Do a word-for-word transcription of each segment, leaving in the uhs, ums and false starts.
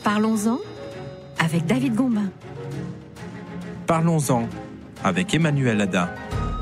Parlons-en avec David Gombin. Parlons-en avec Emmanuel Ada.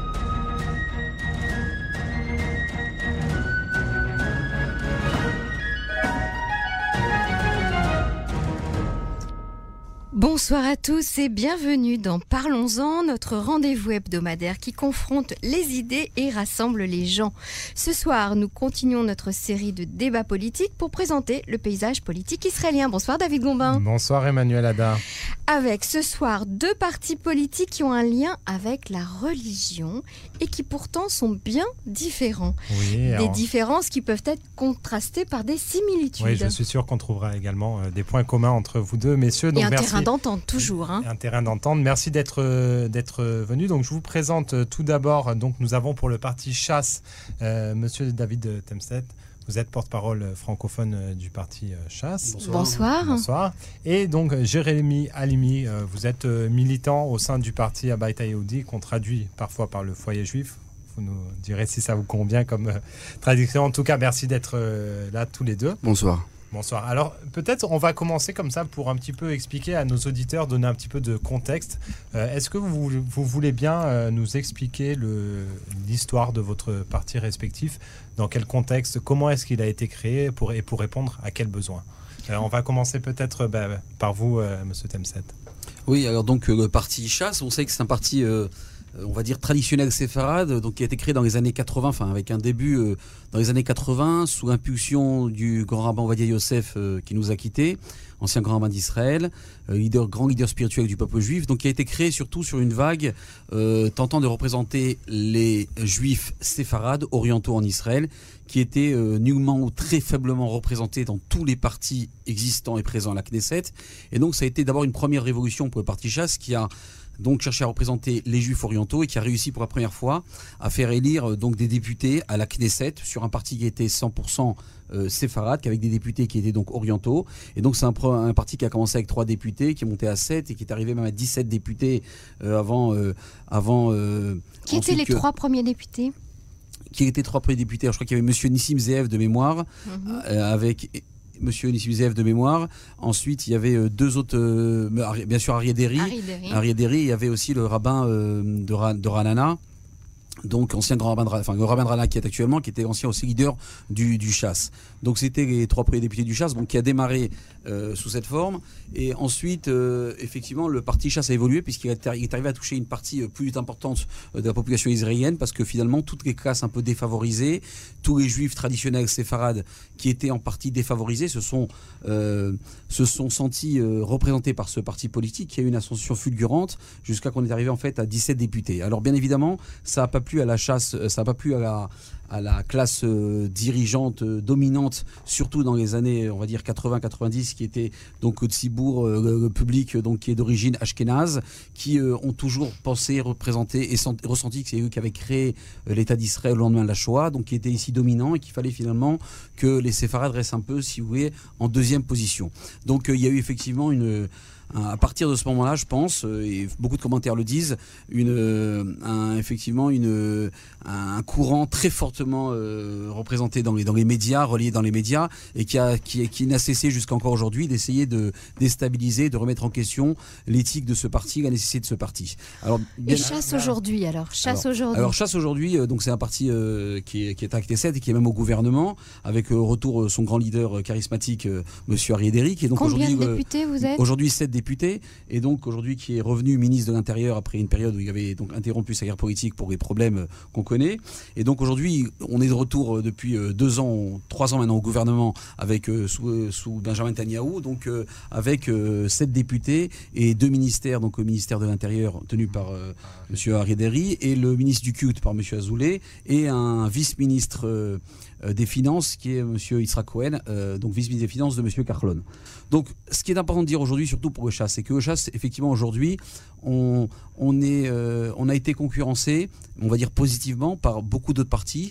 Bonsoir à tous et bienvenue dans Parlons-en, notre rendez-vous hebdomadaire qui confronte les idées et rassemble les gens. Ce soir, nous continuons notre série de débats politiques pour présenter le paysage politique israélien. Bonsoir David Gombin. Bonsoir Emmanuel Ada. Avec ce soir deux partis politiques qui ont un lien avec la religion et qui pourtant sont bien différents. Oui, des alors... différences qui peuvent être contrastées par des similitudes. Oui, je suis sûr qu'on trouvera également euh, des points communs entre vous deux, messieurs. Donc et un merci. terrain d'entente, toujours. Hein. Un terrain d'entente. Merci d'être, euh, d'être venu. Donc, je vous présente euh, tout d'abord, donc, nous avons pour le parti Chasse, euh, monsieur David Temset. Vous êtes porte-parole francophone euh, du parti euh, Chasse. Bonsoir. Bonsoir. Bonsoir. Et donc, Jérémy Halimi, euh, vous êtes euh, militant au sein du parti Habayit Yehudi, qu'on traduit parfois par le foyer juif. Vous nous direz si ça vous convient comme euh, traduction. En tout cas, merci d'être euh, là tous les deux. Bonsoir. Bonsoir. Alors, peut-être on va commencer comme ça pour un petit peu expliquer à nos auditeurs, donner un petit peu de contexte. Euh, est-ce que vous, vous voulez bien euh, nous expliquer le, l'histoire de votre parti respectif? Dans quel contexte? Comment est-ce qu'il a été créé pour, et pour répondre à quels besoins? Alors, on va commencer peut-être bah, par vous, euh, monsieur Temset. Oui, alors donc euh, le parti Chasse, on sait que c'est un parti... Euh on va dire traditionnel séfarade, donc qui a été créé dans les années quatre-vingts, enfin avec un début euh, dans les années quatre-vingts, sous l'impulsion du grand rabbin Ovadia Yosef euh, qui nous a quittés, ancien grand rabbin d'Israël, euh, leader, grand leader spirituel du peuple juif, donc qui a été créé surtout sur une vague euh, tentant de représenter les juifs séfarades orientaux en Israël, qui étaient euh, nullement ou très faiblement représentés dans tous les partis existants et présents à la Knesset. Et donc ça a été d'abord une première révolution pour le parti Chasse qui a donc cherché à représenter les Juifs orientaux et qui a réussi pour la première fois à faire élire donc des députés à la Knesset sur un parti qui était cent pour cent euh, séfarade, avec des députés qui étaient donc orientaux. Et donc c'est un, un parti qui a commencé avec trois députés, qui est monté à sept et qui est arrivé même à dix-sept députés euh, avant... Euh, avant euh, qui étaient les que, trois premiers députés? Qui étaient les trois premiers députés? Alors, je crois qu'il y avait Monsieur Nissim Zeev de mémoire, mm-hmm. euh, avec... Monsieur Nissim Zeev de mémoire. Ensuite, il y avait deux autres, euh, bien sûr Aryeh Deri. Aryeh Deri. Il y avait aussi le rabbin euh, de, Ra, de Ranana, donc ancien grand rabbin de, enfin, le rabbin de Ranana qui est actuellement, qui était ancien aussi leader du, du Chasse. Donc c'était les trois premiers députés du Chasse, donc qui a démarré euh, sous cette forme. Et ensuite, euh, effectivement, le parti Chasse a évolué puisqu'il est arrivé à toucher une partie plus importante de la population israélienne, parce que finalement, toutes les classes un peu défavorisées, tous les juifs traditionnels séfarades qui étaient en partie défavorisés se sont, euh, se sont sentis euh, représentés par ce parti politique qui a eu une ascension fulgurante jusqu'à qu'on est arrivé en fait à dix-sept députés. Alors bien évidemment, ça n'a pas plu à la chasse, ça n'a pas plu à la... à la classe euh, dirigeante euh, dominante, surtout dans les années, on va dire quatre-vingts quatre-vingt-dix, qui était donc de Cibourg, euh, le, le public donc qui est d'origine ashkénaze, qui euh, ont toujours pensé, représenté et sent, ressenti que c'est eux qui avaient créé euh, l'État d'Israël au lendemain de la Shoah, donc qui étaient ici dominants et qu'il fallait finalement que les séfarades restent un peu, si vous voulez, en deuxième position. Donc euh, il y a eu effectivement une à partir de ce moment-là, je pense, et beaucoup de commentaires le disent, une, un, effectivement une, un courant très fortement euh, représenté dans les, dans les médias, relié dans les médias, et qui, a, qui, qui n'a cessé jusqu'à encore aujourd'hui d'essayer de déstabiliser, de remettre en question l'éthique de ce parti, la nécessité de ce parti. Alors, bien, et Chasse aujourd'hui, alors Chasse alors, aujourd'hui. Alors Chasse aujourd'hui, euh, donc c'est un parti euh, qui, est, qui est à Knesset et qui est même au gouvernement, avec au euh, retour euh, son grand leader euh, charismatique, euh, Monsieur Aryeh Deri, qui est donc Combien aujourd'hui de députés euh, vous êtes? Aujourd'hui sept député, et donc aujourd'hui qui est revenu ministre de l'Intérieur après une période où il avait donc interrompu sa guerre politique pour les problèmes qu'on connaît. Et donc aujourd'hui, on est de retour depuis deux ans, trois ans maintenant au gouvernement avec sous, sous Benjamin Netanyahou, donc euh, avec euh, sept députés et deux ministères, donc le ministère de l'Intérieur tenu par euh, Monsieur Aryeh Deri et le ministre du culte par Monsieur Azoulay et un vice-ministre euh, des Finances qui est Monsieur Yitzhak Cohen, euh, donc vice-ministre des Finances de Monsieur Kahlon. Donc ce qui est important de dire aujourd'hui, surtout pour le Chasse, c'est que le Chasse, effectivement aujourd'hui, on, on, est, euh, on a été concurrencé, on va dire positivement, par beaucoup d'autres partis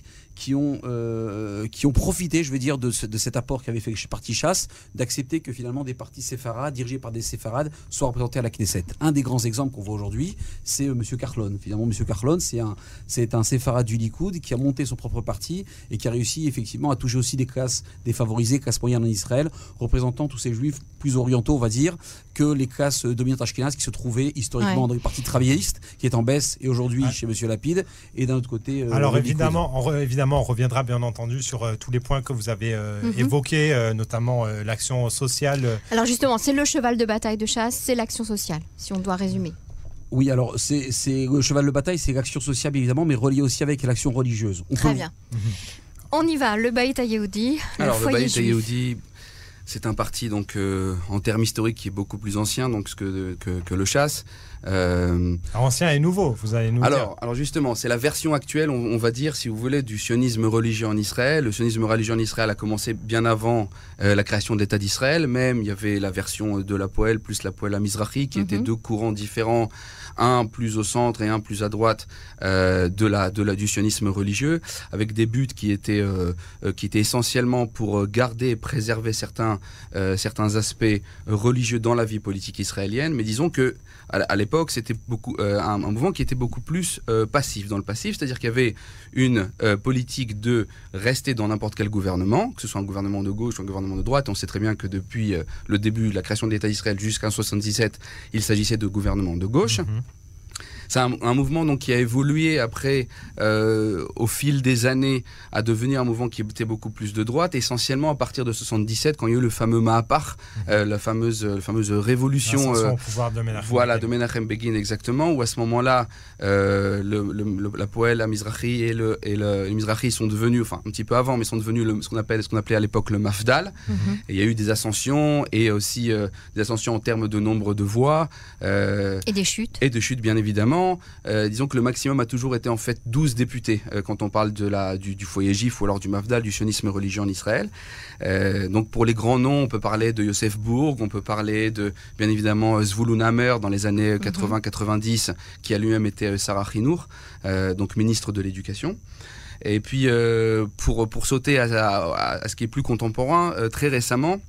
qui ont, euh, qui ont profité, je veux dire, de, ce, de cet apport qu'avait fait le parti Chasse, d'accepter que finalement des partis séfarades, dirigés par des séfarades, soient représentés à la Knesset. Un des grands exemples qu'on voit aujourd'hui, c'est euh, M. Carlon. Finalement, M. Carlon, c'est un, c'est un séfarade du Likoud qui a monté son propre parti et qui a réussi effectivement à toucher aussi des classes défavorisées, classes moyennes en Israël, représentant tous ces juifs plus orientaux, on va dire, que les classes dominantes ashkénazes qui se trouvaient historiquement ouais. dans les partis travaillistes, qui est en baisse, et aujourd'hui ouais. chez M. Lapide, et d'un autre côté... Euh, Alors évidemment on, re, évidemment, on reviendra bien entendu sur euh, tous les points que vous avez euh, mm-hmm. évoqués, euh, notamment euh, l'action sociale. Alors justement, c'est le cheval de bataille de Chasse, c'est l'action sociale, si on doit résumer. Oui, alors c'est, c'est le cheval de bataille, c'est l'action sociale évidemment, mais relié aussi avec l'action religieuse. On Très peut... bien. Mm-hmm. On y va, le Baït HaYehudi. Alors le, le Baït HaYehudi, c'est un parti donc euh, en termes historiques qui est beaucoup plus ancien donc que que, que le Chasse. Euh... Ancien et nouveau, vous allez nous alors, dire. Alors justement, c'est la version actuelle, on, on va dire, si vous voulez, du sionisme religieux en Israël. Le sionisme religieux en Israël a commencé bien avant euh, la création de l'État d'Israël. Même, il y avait la version de la Poël plus la Poël Mizrahi, qui mm-hmm. étaient deux courants différents, un plus au centre et un plus à droite euh, de la, de la, du sionisme religieux, avec des buts qui étaient, euh, euh, qui étaient essentiellement pour garder et préserver certains, euh, certains aspects religieux dans la vie politique israélienne. Mais disons que à, à l'époque, c'était beaucoup, euh, un, un mouvement qui était beaucoup plus euh, passif. Dans le passif, c'est-à-dire qu'il y avait une euh, politique de rester dans n'importe quel gouvernement, que ce soit un gouvernement de gauche ou un gouvernement de droite. On sait très bien que depuis euh, le début de la création de l'État d'Israël jusqu'en soixante-dix-sept, il s'agissait de gouvernements de gauche. Mmh. C'est un, un mouvement donc, qui a évolué après, euh, au fil des années, à devenir un mouvement qui était beaucoup plus de droite, essentiellement à partir de soixante-dix-sept, quand il y a eu le fameux Mahapar, mmh. euh, la, fameuse, la fameuse révolution euh, au pouvoir de Menachem voilà, Begin. de Menachem Begin, exactement, où à ce moment-là, euh, le, le, le, la Poël, la Mizrahi et le, et le, le Mizrahi sont devenus, enfin un petit peu avant, mais sont devenus le, ce qu'on appelle, ce qu'on appelait à l'époque le Mafdal. Mmh. Et il y a eu des ascensions, et aussi euh, des ascensions en termes de nombre de voix. Euh, et des chutes. Et de chutes, bien évidemment. Euh, disons que le maximum a toujours été en fait douze députés euh, quand on parle de la, du, du foyer juif ou alors du Mafdal, du sionisme religieux en Israël. Euh, donc pour les grands noms, on peut parler de Yosef Bourg, on peut parler de bien évidemment Zvulun Hammer dans les années quatre-vingts quatre-vingt-dix, qui a lui-même été Sarah Chinour, euh, donc ministre de l'Éducation. Et puis euh, pour, pour sauter à, à, à ce qui est plus contemporain, euh, très récemment,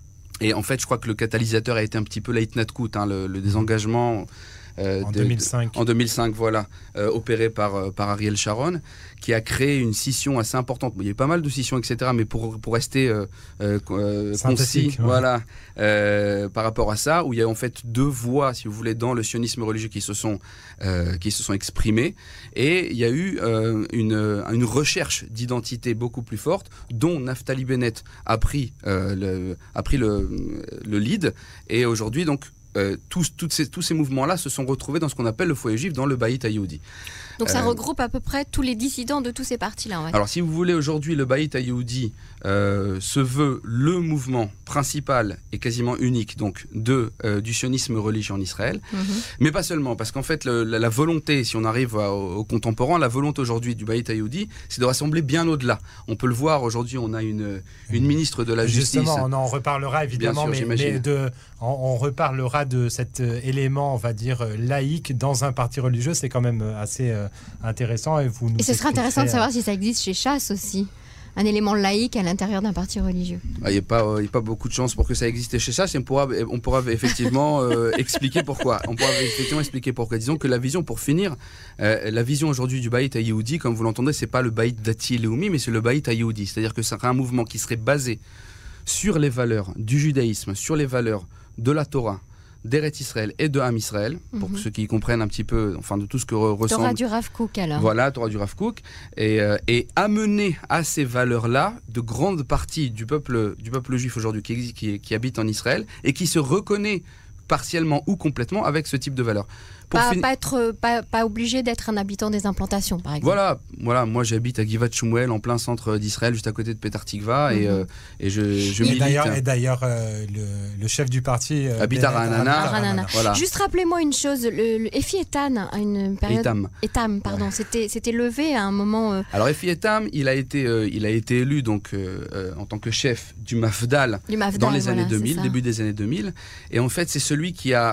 et en fait je crois que le catalyseur a été un petit peu l'Eitnatkut, hein, le, le désengagement... Euh, en de, deux mille cinq. En deux mille cinq, voilà, euh, opéré par, euh, par Ariel Sharon, qui a créé une scission assez importante. Bon, il y a eu pas mal de scissions, et cetera, mais pour, pour rester euh, euh, concis, ouais. voilà, euh, par rapport à ça, où il y a en fait deux voix, si vous voulez, dans le sionisme religieux qui se sont, euh, qui se sont exprimées, et il y a eu euh, une, une recherche d'identité beaucoup plus forte, dont Naftali Bennett a pris, euh, le, a pris le, le lead, et aujourd'hui, donc, Euh, tous, toutes ces, tous ces mouvements-là se sont retrouvés dans ce qu'on appelle le foyer juif, dans le Baït HaYehudi. Donc ça euh, regroupe à peu près tous les dissidents de tous ces partis-là. Ouais. Alors si vous voulez, aujourd'hui, le Baït HaYehudi euh, se veut le mouvement principal et quasiment unique donc, de, euh, du sionisme religieux en Israël. Mm-hmm. Mais pas seulement, parce qu'en fait, le, la, la volonté, si on arrive à, au, au contemporain, la volonté aujourd'hui du Baït HaYehudi, c'est de rassembler bien au-delà. On peut le voir, aujourd'hui, on a une, une ministre de la Justement, Justice. Justement, on en reparlera évidemment, sûr, mais, mais de, on, on reparlera de cet euh, élément, on va dire, euh, laïque dans un parti religieux. C'est quand même euh, assez euh, intéressant. Et, vous nous et ce serait intéressant de savoir si ça existe chez Chasse aussi. Un élément laïque à l'intérieur d'un parti religieux. Il n'y a, a pas beaucoup de chances pour que ça existe chez Chasse, et on pourra, on pourra effectivement euh, expliquer pourquoi. On pourra effectivement expliquer pourquoi. Disons que la vision, pour finir, euh, la vision aujourd'hui du Baït HaYehudi, comme vous l'entendez, c'est pas le Baït Dati Leumi, mais c'est le Baït HaYehudi. C'est-à-dire que c'est un mouvement qui serait basé sur les valeurs du judaïsme, sur les valeurs de la Torah, d'Eretz Israël et de Ham Israël, pour mm-hmm. ceux qui comprennent un petit peu, enfin de tout ce que re- ressemble. Torah du Rav Kook alors. Voilà, Torah du Rav Kook, et, euh, et amener à ces valeurs-là de grandes parties du peuple, du peuple juif aujourd'hui qui, qui, qui habite en Israël et qui se reconnaît partiellement ou complètement avec ce type de valeurs. Pas, fin... pas, être, pas, pas obligé d'être un habitant des implantations, par exemple. Voilà, voilà, moi j'habite à Givat Shmuel, en plein centre d'Israël, juste à côté de Petar Tikva, mm-hmm. et, euh, et je, je et milite. D'ailleurs, et d'ailleurs, euh, le, le chef du parti euh, habite à Ra'anana. Voilà. Juste rappelez-moi une chose, le, le Efi Etan a une période. Etam. Etam, pardon, ouais. c'était, c'était levé à un moment. Euh... Alors Efi Etam, il a été, euh, il a été élu donc euh, euh, en tant que chef du Mafdal, du Mafdal dans les voilà, années deux mille, début des années deux mille, et en fait c'est celui qui a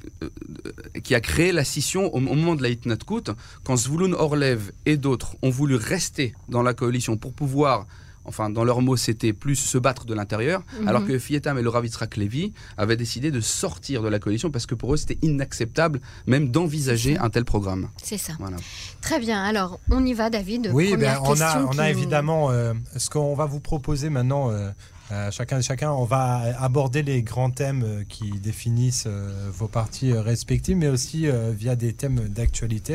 euh, qui a créé la scission au, au moment de la Hitnatkut, quand Zvouloun Orlev et d'autres ont voulu rester dans la coalition pour pouvoir, enfin dans leurs mots c'était plus se battre de l'intérieur, mm-hmm. alors que Fietam et le Rav Yitzhak Levi avaient décidé de sortir de la coalition parce que pour eux c'était inacceptable même d'envisager un tel programme. C'est ça. Voilà. Très bien, alors on y va David. Oui, ben, on a, on a évidemment euh, ce qu'on va vous proposer maintenant. Euh, Euh, chacun et chacun, on va aborder les grands thèmes euh, qui définissent euh, vos partis euh, respectifs, mais aussi euh, via des thèmes d'actualité.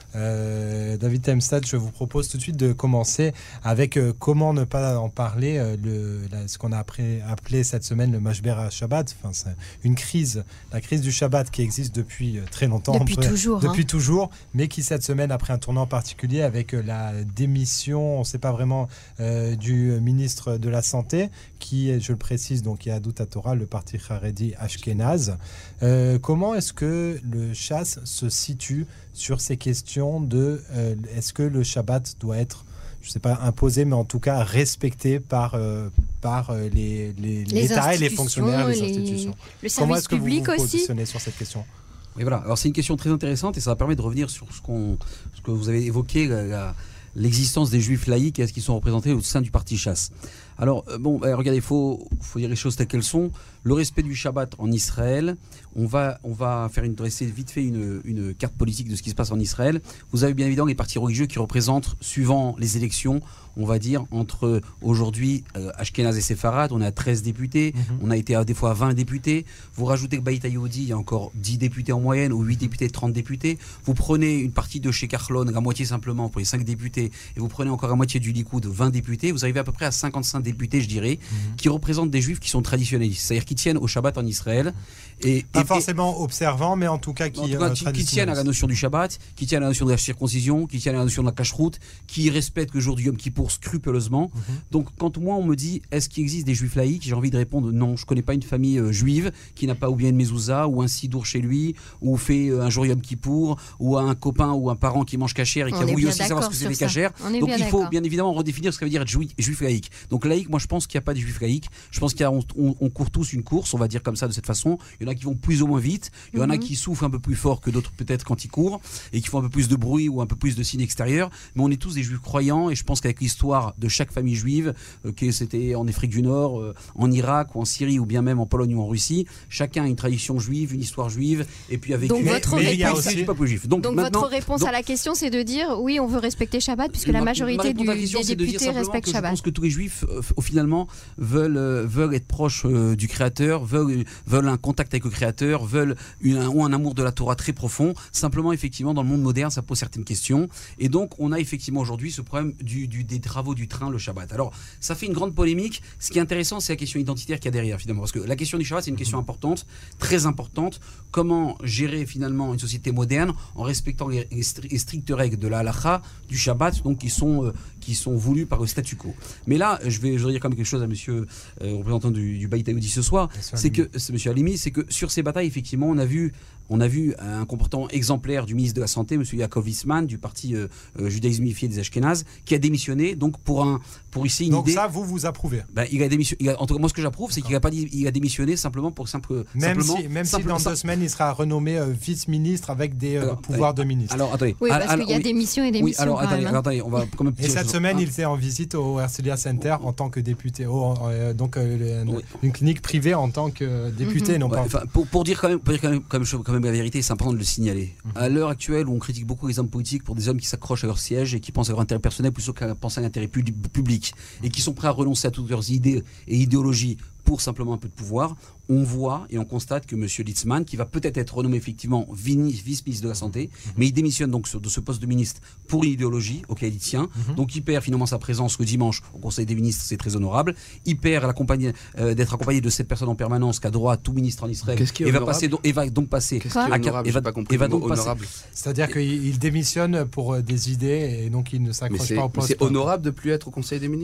Euh, David Temstad, je vous propose tout de suite de commencer avec euh, comment ne pas en parler, euh, le, la, ce qu'on a appris, appelé cette semaine le Mashber HaShabbat, enfin, c'est une crise, la crise du Shabbat qui existe depuis euh, très longtemps. Depuis peut, toujours. Depuis hein. toujours, mais qui cette semaine a pris un tournant particulier avec euh, la démission, on ne sait pas vraiment, euh, du ministre de la Santé, qui, je le précise, donc Yahadut HaTorah, le parti Haredi Ashkenaz. Euh, comment est-ce que le Chasse se situe sur ces questions de euh, est-ce que le Shabbat doit être, je ne sais pas imposé, mais en tout cas respecté par, euh, par euh, les, les, les l'État et les fonctionnaires, les, les institutions. Le Comment service est-ce que public vous vous aussi positionnez sur cette question ? Et voilà, alors c'est une question très intéressante et ça va permettre de revenir sur ce, qu'on, ce que vous avez évoqué, la, la, l'existence des juifs laïcs et est-ce qu'ils sont représentés au sein du parti Chasse. Alors, euh, bon, bah, regardez, il faut, faut dire les choses telles qu'elles sont. Le respect du Shabbat en Israël, on va, on va faire une, dresser vite fait une, une carte politique de ce qui se passe en Israël. Vous avez bien évidemment les partis religieux qui représentent, suivant les élections, on va dire, entre aujourd'hui euh, Ashkenaz et Séfarad, on est à treize députés, mm-hmm. on a été à, des fois à vingt députés. Vous rajoutez que Baït HaYehudi, il y a encore dix députés en moyenne, ou huit députés, trente députés. Vous prenez une partie de chez Carlon, à moitié simplement, pour les cinq députés, et vous prenez encore à moitié du Likoud, vingt députés, vous arrivez à peu près à cinquante-cinq députés, je dirais, mm-hmm. qui représentent des juifs qui sont traditionnalistes, c'est-à-dire qui tiennent au Shabbat en Israël. Et, Pas et, forcément et, observants, mais en tout cas qui, en tout cas, qui, qui tiennent à la notion du Shabbat, qui tiennent à la notion de la circoncision, qui tiennent à la notion de la cacheroute, qui respectent le jour du Yom Kippour scrupuleusement. Mm-hmm. Donc quand moi on me dit est-ce qu'il existe des juifs laïcs, j'ai envie de répondre non, je ne connais pas une famille euh, juive qui n'a pas ou bien une mezouza ou un sidour chez lui, ou fait euh, un jour Yom Kippour, ou a un copain ou un parent qui mange cachère et qui a voulu aussi savoir ce que c'est les cachères. Donc il faut bien évidemment redéfinir ce que ça veut dire être juif, juif laïque. Donc laïque, moi je pense qu'il n'y a pas de juifs laïcs. Je pense qu'on on, on court tous une course, on va dire comme ça de cette façon. Il y en a qui vont plus ou moins vite, il y en a mm-hmm. qui souffrent un peu plus fort que d'autres peut-être quand ils courent et qui font un peu plus de bruit ou un peu plus de signes extérieurs. Mais on est tous des juifs croyants et je pense qu'avec l'histoire de chaque famille juive, euh, que c'était en Afrique du Nord, euh, en Irak ou en Syrie ou bien même en Pologne ou en Russie, chacun a une tradition juive, une histoire juive et puis avec donc une... votre mais, réponse, mais peuple juif. Donc, donc maintenant, votre réponse donc, à la question c'est de dire oui on veut respecter Shabbat puisque la majorité du, des députés respectent Shabbat. Je pense que tous les juifs euh, finalement veulent, euh, veulent être proches euh, du Créateur, veulent, veulent un contact avec le Créateur, veulent une, un, ou un amour de la Torah très profond. Simplement effectivement dans le monde moderne ça pose certaines questions et donc on a effectivement aujourd'hui ce problème du, du, des travaux du train le Shabbat. Alors ça fait une grande polémique. Ce qui est intéressant c'est la question identitaire qu'il y a derrière finalement parce que la question du Shabbat c'est une question importante, très importante. Comment gérer finalement une société moderne en respectant les, les strictes règles de la halakha du Shabbat donc qui sont euh, qui sont voulues par le statu quo. Mais là je vais, je vais dire quand même quelque chose à monsieur euh, représentant du, du Baït HaYehudi ce soir, c'est que c'est monsieur Halimi, c'est que sur ces batailles effectivement on a vu On a vu un comportement exemplaire du ministre de la Santé, M. Yaakov Litzman, du parti euh, euh, judaïsme unifié des Ashkénazes, qui a démissionné donc pour, un, pour ici une donc idée... Donc ça, vous, vous approuvez ben, il a démissionné, il a, En tout cas, moi, ce que j'approuve, c'est qu'il a, pas dit, il a démissionné simplement pour simple... Même simplement, si, même simple, si dans simple, deux semaines, il sera renommé euh, vice-ministre avec des euh, alors, pouvoirs allez, de ministre. Alors, attendez. Oui, parce alors, qu'il y a oui, des missions et des oui, missions alors, quand attendez, même. Hein. attendez, on va quand même... Et cette semaine, ah. il était en visite au Herzliya Center en tant que député, oh, euh, donc euh, oui. une clinique privée en tant que député, mm-hmm. non ouais, pas... Pour, pour dire quand même, pour dire quand même, quand même, quand même la vérité, c'est important de le signaler. Mm-hmm. À l'heure actuelle où on critique beaucoup les hommes politiques pour des hommes qui s'accrochent à leur siège et qui pensent à leur intérêt personnel plutôt qu'à penser à l'intérêt public et qui sont prêts à renoncer à toutes leurs idées et idéologies pour simplement un peu de pouvoir, on voit et on constate que M. Litzman, qui va peut-être être renommé effectivement vice-ministre de la Santé, mmh. mais il démissionne donc de ce poste de ministre pour une idéologie auquel il tient, mmh. donc il perd finalement sa présence le dimanche au Conseil des ministres, c'est très honorable, il perd euh, d'être accompagné de cette personne en permanence qu'a droit à tout ministre en Israël, Qu'est-ce qui est et, va passer, et va donc passer... Qu'est-ce qui est honorable ? Et va, pas compris et va donc honorable. passer... C'est-à-dire qu'il démissionne pour des idées et donc il ne s'accroche pas au poste. Mais c'est honorable de plus être au Conseil des ministres ?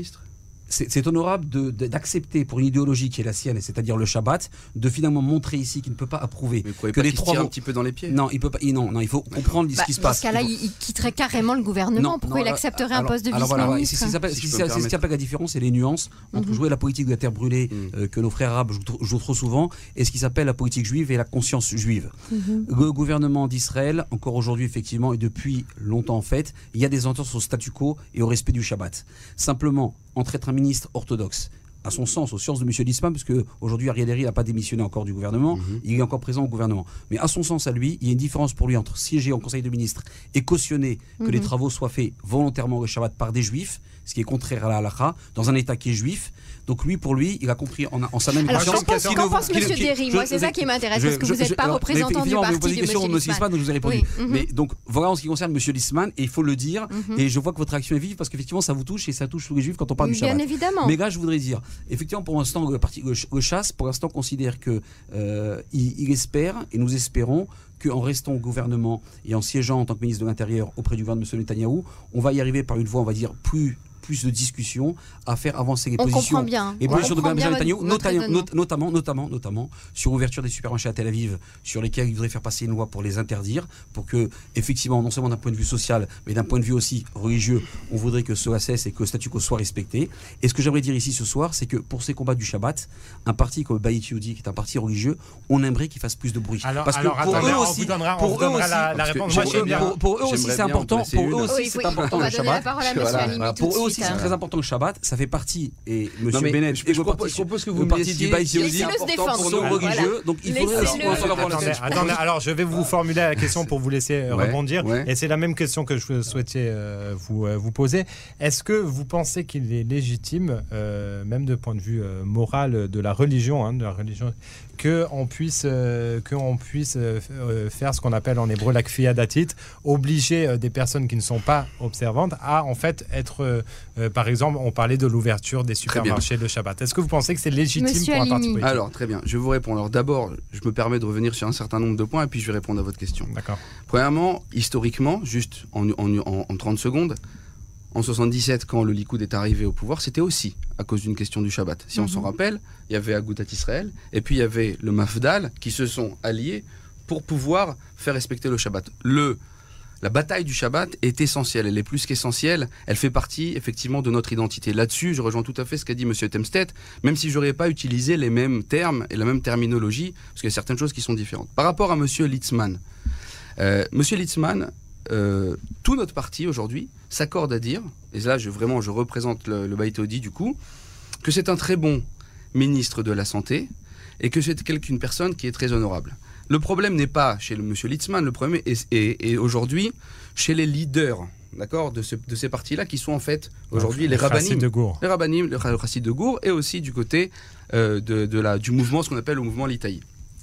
c'est, c'est honorable de, de, d'accepter pour une idéologie qui est la sienne, c'est-à-dire le Shabbat, de finalement montrer ici qu'il ne peut pas approuver mais que pas les trois vont un petit peu dans les pieds. Non, il peut pas. Il, non, non, il faut D'accord. comprendre bah, ce qui se dans passe. Dans ce cas-là, il, faut... il quitterait carrément le gouvernement. Non, Pourquoi non, il accepterait alors, un poste de vice-ministre? Alors voilà, c'est ce qui s'appelle la différence et les nuances entre mm-hmm. jouer la politique de la terre brûlée mm. euh, que nos frères arabes jouent, jouent trop souvent et ce qui s'appelle la politique juive et la conscience juive. Mm-hmm. Le gouvernement d'Israël, encore aujourd'hui effectivement et depuis longtemps en fait, il y a des ententes au statu quo et au respect du Shabbat. Simplement, entre être un ministre orthodoxe, à son sens, aux sciences de M. Litzman, parce qu'aujourd'hui, Ariel Henry n'a pas démissionné encore du gouvernement, mmh. il est encore présent au gouvernement. Mais à son sens, à lui, il y a une différence pour lui entre siéger en Conseil de ministres et cautionner que mmh. les travaux soient faits volontairement le Shabbat par des juifs, ce qui est contraire à la halakha, dans un État qui est juif. Donc lui, pour lui, il a compris en, en sa même Alors, conscience... Alors, qu'en pense M. Derry? Moi, c'est ça qui m'intéresse, parce que vous n'êtes pas je, représentant du parti de M. Litzman. Donc je vous ai répondu. Oui. Mm-hmm. Mais donc, voilà en ce qui concerne M. Litzman, et il faut le dire, mm-hmm. et je vois que votre réaction est vive, parce qu'effectivement, ça vous touche, et ça touche tous les juifs quand on parle oui, du Shabbat. Bien évidemment. Mais là, je voudrais dire, effectivement, pour l'instant, le parti le chasse, pour l'instant, considère que euh, il, il espère, et nous espérons, qu'en restant au gouvernement et en siégeant en tant que ministre de l'Intérieur auprès du gouvernement de M. Netanyahou, on va y arriver par une voie, on va dire, plus... plus de discussions à faire avancer les on positions bien. et positions de gouvernement Netanyahou, notamment, not, notamment, notamment, notamment sur l'ouverture des supermarchés à Tel Aviv, sur lesquels il voudrait faire passer une loi pour les interdire, pour que, effectivement, non seulement d'un point de vue social, mais d'un point de vue aussi religieux, on voudrait que cela cesse et que le statu quo soit respecté. Et ce que j'aimerais dire ici ce soir, c'est que pour ces combats du Shabbat, un parti comme Bayit Yehudi, qui est un parti religieux, on aimerait qu'il fasse plus de bruit. Alors, parce alors, que pour attendez, eux aussi, pour eux aussi, la, la réponse, moi, pour, pour, pour eux aussi, c'est important. Pour eux aussi, c'est important le Shabbat. Pour eux aussi, c'est très important le Shabbat, ça fait partie, et M. Bennett je, je, je propose, propose que vous le parti du Bayit Yehudi c'est important pour nos religieux, donc il faudrait aussi attendez, attendez, alors je vais vous formuler la question pour vous laisser ouais, rebondir, ouais. et c'est la même question que je souhaitais euh, vous, euh, vous poser. Est-ce que vous pensez qu'il est légitime, euh, même de point de vue euh, moral de la religion, hein, de la religion, qu'on puisse, euh, qu'on puisse euh, faire ce qu'on appelle en hébreu la kfiyat datit, obliger euh, des personnes qui ne sont pas observantes à en fait être, euh, par exemple, on parlait de l'ouverture des supermarchés le Shabbat. Est-ce que vous pensez que c'est légitime Monsieur pour un parti politique? Alors, très bien, je vais vous répondre. Alors d'abord, je me permets de revenir sur un certain nombre de points et puis je vais répondre à votre question. D'accord. Premièrement, historiquement, juste en, en, en, en trente secondes, en soixante-dix-sept, quand le Likoud est arrivé au pouvoir, c'était aussi à cause d'une question du Shabbat. Si mm-hmm. on s'en rappelle, il y avait Agudat Israël et puis il y avait le Mafdal qui se sont alliés pour pouvoir faire respecter le Shabbat. Le La bataille du Shabbat est essentielle, elle est plus qu'essentielle, elle fait partie effectivement de notre identité. Là-dessus, je rejoins tout à fait ce qu'a dit M. Temstedt, même si je n'aurais pas utilisé les mêmes termes et la même terminologie, parce qu'il y a certaines choses qui sont différentes. Par rapport à M. Litzman, euh, M. Litzman, euh, tout notre parti aujourd'hui s'accorde à dire, et là je, vraiment je représente le, le Bayit Yehudi du coup, que c'est un très bon ministre de la Santé et que c'est une personne qui est très honorable. Le problème n'est pas chez le monsieur Litzman, le problème est, est, est aujourd'hui chez les leaders, d'accord, de, ce, de ces partis-là qui sont en fait aujourd'hui les rabbanim, les rabbanim, le chassid de Gour, et aussi du côté euh, de, de la, du mouvement, ce qu'on appelle le mouvement Litaï.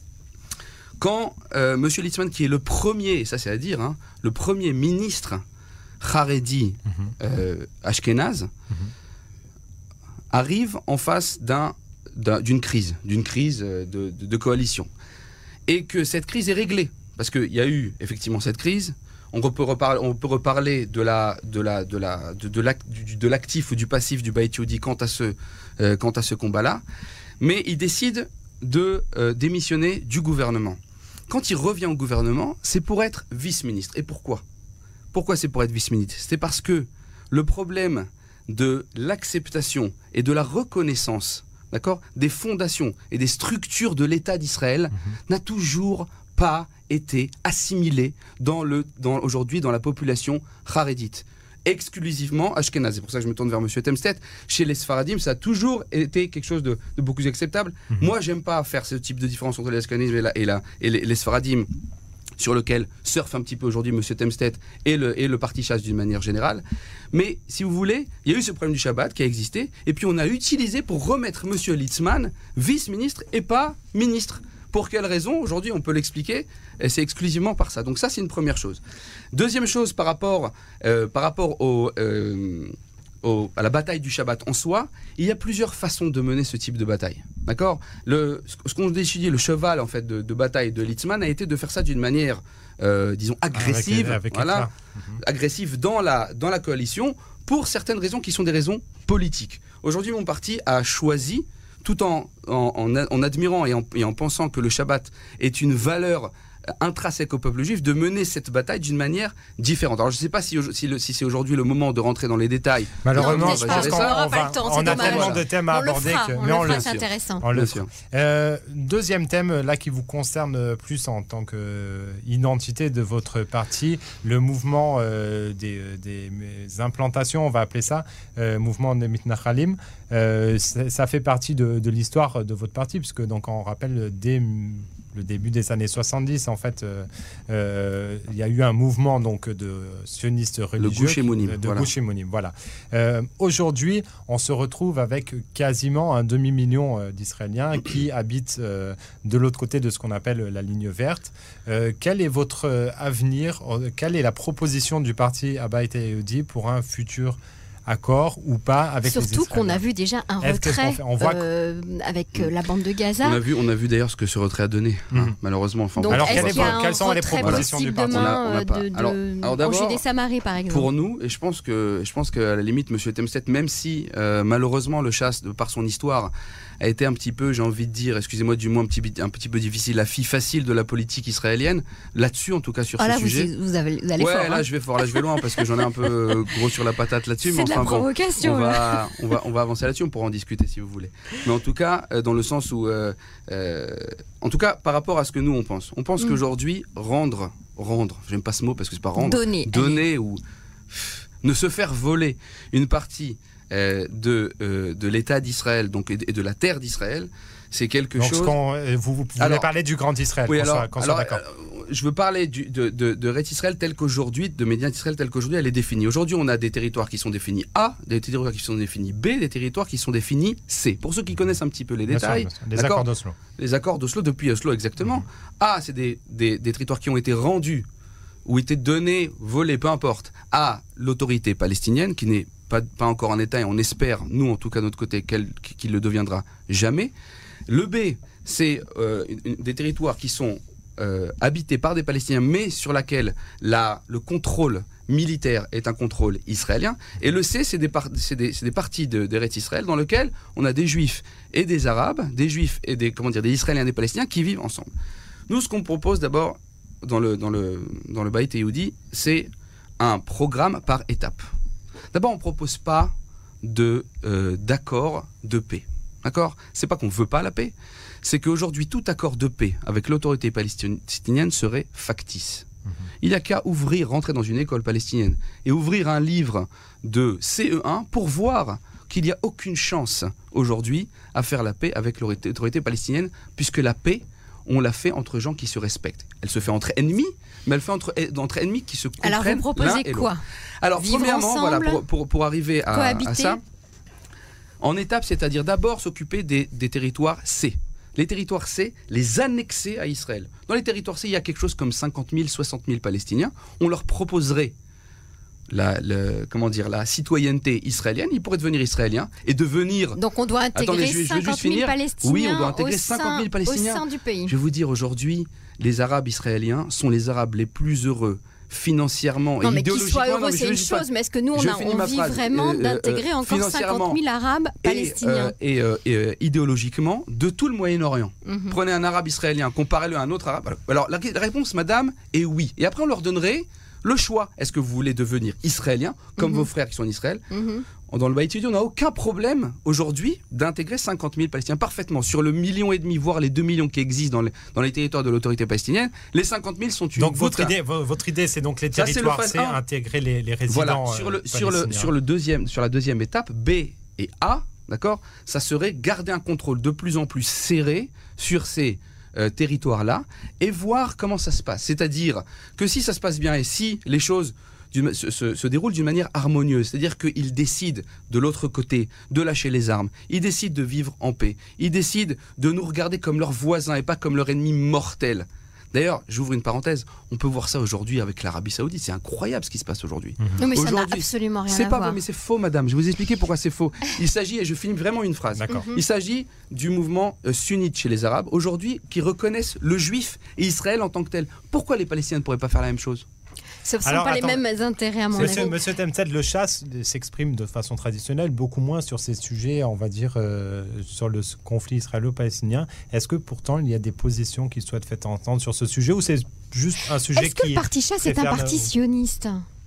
Quand euh, monsieur Litzman, qui est le premier, ça c'est à dire, hein, le premier ministre Haredi mm-hmm. euh, Ashkenaz, mm-hmm. arrive en face d'un, d'un, d'une crise, d'une crise de, de, de coalition. Et que cette crise est réglée, parce qu'il y a eu effectivement cette crise, on peut reparler, on peut reparler de, la, de, la, de, la, de, de, l'act, du, de l'actif ou du passif du Bayit Yehudi quant à ce, euh, quant à ce combat-là, mais il décide de euh, démissionner du gouvernement. Quand il revient au gouvernement, c'est pour être vice-ministre. Et pourquoi ? Pourquoi c'est pour être vice-ministre ? C'est parce que le problème de l'acceptation et de la reconnaissance, d'accord, des fondations et des structures de l'État d'Israël mmh. n'a toujours pas été assimilé dans le, dans, aujourd'hui dans la population harédite. Exclusivement ashkénaze. C'est pour ça que je me tourne vers M. Temstedt. Chez les Sfaradim, ça a toujours été quelque chose de, de beaucoup plus acceptable. Mmh. Moi, j'aime pas faire ce type de différence entre les ashkénazes et, la, et, la, et les, les Sfaradim, sur lequel surfe un petit peu aujourd'hui M. Temstedt et le, et le parti chasse d'une manière générale. Mais si vous voulez, il y a eu ce problème du Shabbat qui a existé, et puis on a utilisé pour remettre M. Litzman vice-ministre et pas ministre. Pour quelle raison ? Aujourd'hui, on peut l'expliquer, et c'est exclusivement par ça. Donc ça, c'est une première chose. Deuxième chose, par rapport, euh, par rapport au... Euh, au, à la bataille du Shabbat en soi, il y a plusieurs façons de mener ce type de bataille. D'accord ? Le, Ce qu'on a étudié, le cheval en fait, de, de bataille de Litzman a été de faire ça d'une manière, euh, disons, agressive, avec, avec voilà, mmh. agressive dans la, dans la coalition, pour certaines raisons qui sont des raisons politiques. Aujourd'hui, mon parti a choisi, tout en, en, en, en admirant et en, et en pensant que le Shabbat est une valeur intrinsèque au peuple juif, de mener cette bataille d'une manière différente. Alors je ne sais pas si, si, si c'est aujourd'hui le moment de rentrer dans les détails. Malheureusement, non, je pense qu'on va, va, on a tellement de thèmes à aborder que mais on on le le fera, c'est intéressant. On le fera. Euh, deuxième thème là qui vous concerne plus en tant qu'identité de votre parti, le mouvement euh, des, des implantations, on va appeler ça, euh, mouvement des Mitnachalim. Euh, ça fait partie de, de l'histoire de votre parti, puisque donc on rappelle dès le début des années soixante-dix, en fait, euh, euh, il y a eu un mouvement donc de sionistes religieux, le Gush Emonim, de voilà. Gush Emonim, voilà. Euh, aujourd'hui, on se retrouve avec quasiment un demi-million euh, d'Israéliens qui habitent euh, de l'autre côté de ce qu'on appelle la ligne verte. Euh, quel est votre euh, avenir ? Quelle est la proposition du parti Abait Yehudi pour un futur accord ou pas avec les Surtout qu'on a vu déjà un retrait on voit euh, avec euh, la bande de Gaza. On a vu, on a vu d'ailleurs ce que ce retrait a donné, mmh. hein, malheureusement. Enfin, donc, alors, est-ce quelle qu'il y a quelles sont les propositions du parti ? Demain, on a, on a pas. De, de, alors, alors d'abord, en Judée-Samarie, par exemple. Pour nous, et je pense que, je pense qu'à la limite, M. Temstet, même si euh, malheureusement le chasse, de par son histoire, a été un petit peu, j'ai envie de dire, excusez-moi du moins un petit, un petit peu difficile, la fille facile de la politique israélienne, là-dessus en tout cas sur ah, ce là, sujet. Vous, vous, avez, vous allez ouais, fort. là hein. je vais fort, là je vais loin parce que j'en ai un peu gros sur la patate là-dessus. C'est mais de enfin la provocation. Bon, on, va, on, va, on va avancer là-dessus, on pourra en discuter si vous voulez. Mais en tout cas, euh, dans le sens où, euh, euh, en tout cas, par rapport à ce que nous on pense, on pense mm. qu'aujourd'hui, rendre, rendre, j'aime pas ce mot parce que c'est pas rendre, donner, donner ou pff, ne se faire voler une partie euh, de, euh, de l'État d'Israël, donc et de la terre d'Israël. C'est quelque Donc, chose. Quand, vous, vous voulez alors, parler du Grand Israël, oui, qu'on alors, soit, qu'on alors, soit d'accord. Euh, je veux parler du, de, de, de Eretz Israël tel qu'aujourd'hui, de Médiane Israël tel qu'aujourd'hui, elle est définie. Aujourd'hui, on a des territoires qui sont définis A, des territoires qui sont définis B, des territoires qui sont définis C. Pour ceux qui connaissent un petit peu les bien détails, sûr, bien sûr. Les accords d'Oslo. Les accords d'Oslo, depuis Oslo exactement. Mm-hmm. A, c'est des, des, des territoires qui ont été rendus ou été donnés, volés, peu importe, à l'autorité palestinienne, qui n'est pas, pas encore en État, et on espère, nous en tout cas de notre côté, qu'elle, qu'il le deviendra jamais. Le B, c'est euh, une, des territoires qui sont euh, habités par des Palestiniens, mais sur laquelle la, le contrôle militaire est un contrôle israélien. Et le C, c'est des, par, c'est des, c'est des parties de, d'Eretz Israël dans lesquelles on a des Juifs et des Arabes, des Juifs et des, comment dire, des Israéliens et des Palestiniens qui vivent ensemble. Nous, ce qu'on propose d'abord dans le, dans le, dans le Beit Yehudi, c'est un programme par étapes. D'abord, on ne propose pas de, euh, d'accord de paix. D'accord ? C'est pas qu'on ne veut pas la paix, c'est qu'aujourd'hui, tout accord de paix avec l'autorité palestinienne serait factice. Mmh. Il n'y a qu'à ouvrir, rentrer dans une école palestinienne et ouvrir un livre de C E un pour voir qu'il n'y a aucune chance aujourd'hui à faire la paix avec l'autorité palestinienne, puisque la paix, on la fait entre gens qui se respectent. Elle se fait entre ennemis, mais elle fait entre, entre ennemis qui se comprennent. Alors vous proposez quoi ? Alors Vivre premièrement, ensemble, voilà, pour, pour, pour arriver à, à ça, en étape, c'est-à-dire d'abord s'occuper des, des territoires C. Les territoires C, les annexer à Israël. Dans les territoires C, il y a quelque chose comme cinquante mille, soixante mille Palestiniens. On leur proposerait la, le, comment dire, la citoyenneté israélienne. Ils pourraient devenir israéliens et devenir... Donc on doit intégrer Attendez, je, cinquante mille Palestiniens, oui, on doit intégrer cinquante mille Palestiniens au sein du pays. Je vais vous dire, aujourd'hui, les Arabes israéliens sont les Arabes les plus heureux financièrement non, et mais idéologiquement. Qu'ils soient heureux, c'est une chose, pas. Mais est-ce que nous, on, a, on vit phrase. vraiment euh, d'intégrer euh, encore cinquante mille Arabes palestiniens Et, euh, et, euh, et idéologiquement, de tout le Moyen-Orient. Mm-hmm. Prenez un Arabe israélien, comparez-le à un autre Arabe. Alors, la, la réponse, madame, est oui. Et après, on leur donnerait le choix. Est-ce que vous voulez devenir israélien, comme mm-hmm. vos frères qui sont en Israël ? mm-hmm. Dans le Beit Yehudi, on n'a aucun problème aujourd'hui d'intégrer cinquante mille Palestiniens parfaitement. Sur le million et demi, voire les deux millions qui existent dans les, dans les territoires de l'autorité palestinienne, les cinquante mille sont une Donc votre idée, votre idée, c'est donc les territoires, c'est intégrer les, les résidents voilà. Sur le, sur le, sur le deuxième, sur la deuxième étape, B et A, d'accord, ça serait garder un contrôle de plus en plus serré sur ces euh, territoires-là et voir comment ça se passe. C'est-à-dire que si ça se passe bien et si les choses Se, se, se déroule d'une manière harmonieuse, c'est-à-dire qu'ils décident de l'autre côté de lâcher les armes, ils décident de vivre en paix, ils décident de nous regarder comme leurs voisins et pas comme leur ennemi mortel. D'ailleurs, j'ouvre une parenthèse, on peut voir ça aujourd'hui avec l'Arabie Saoudite, c'est incroyable ce qui se passe aujourd'hui. Mmh. Non mais ça n'a absolument rien à voir. C'est pas vrai, mais c'est faux madame, je vais vous expliquer pourquoi c'est faux. Il s'agit, et je finis vraiment une phrase, D'accord. il s'agit du mouvement euh, sunnite chez les Arabes, aujourd'hui, qui reconnaissent le juif et Israël en tant que tel. Pourquoi les Palestiniens ne pourraient pas faire la même chose ? Ce ne sont Alors, pas attends, les mêmes intérêts à mon monsieur, avis. Monsieur Temsed, le chasse s'exprime de façon traditionnelle beaucoup moins sur ces sujets, on va dire, euh, sur le conflit israélo-palestinien. Est-ce que pourtant il y a des positions qui souhaitent faire entendre sur ce sujet ou c'est juste un sujet qui... Est-ce que le parti chasse est un parti sioniste ?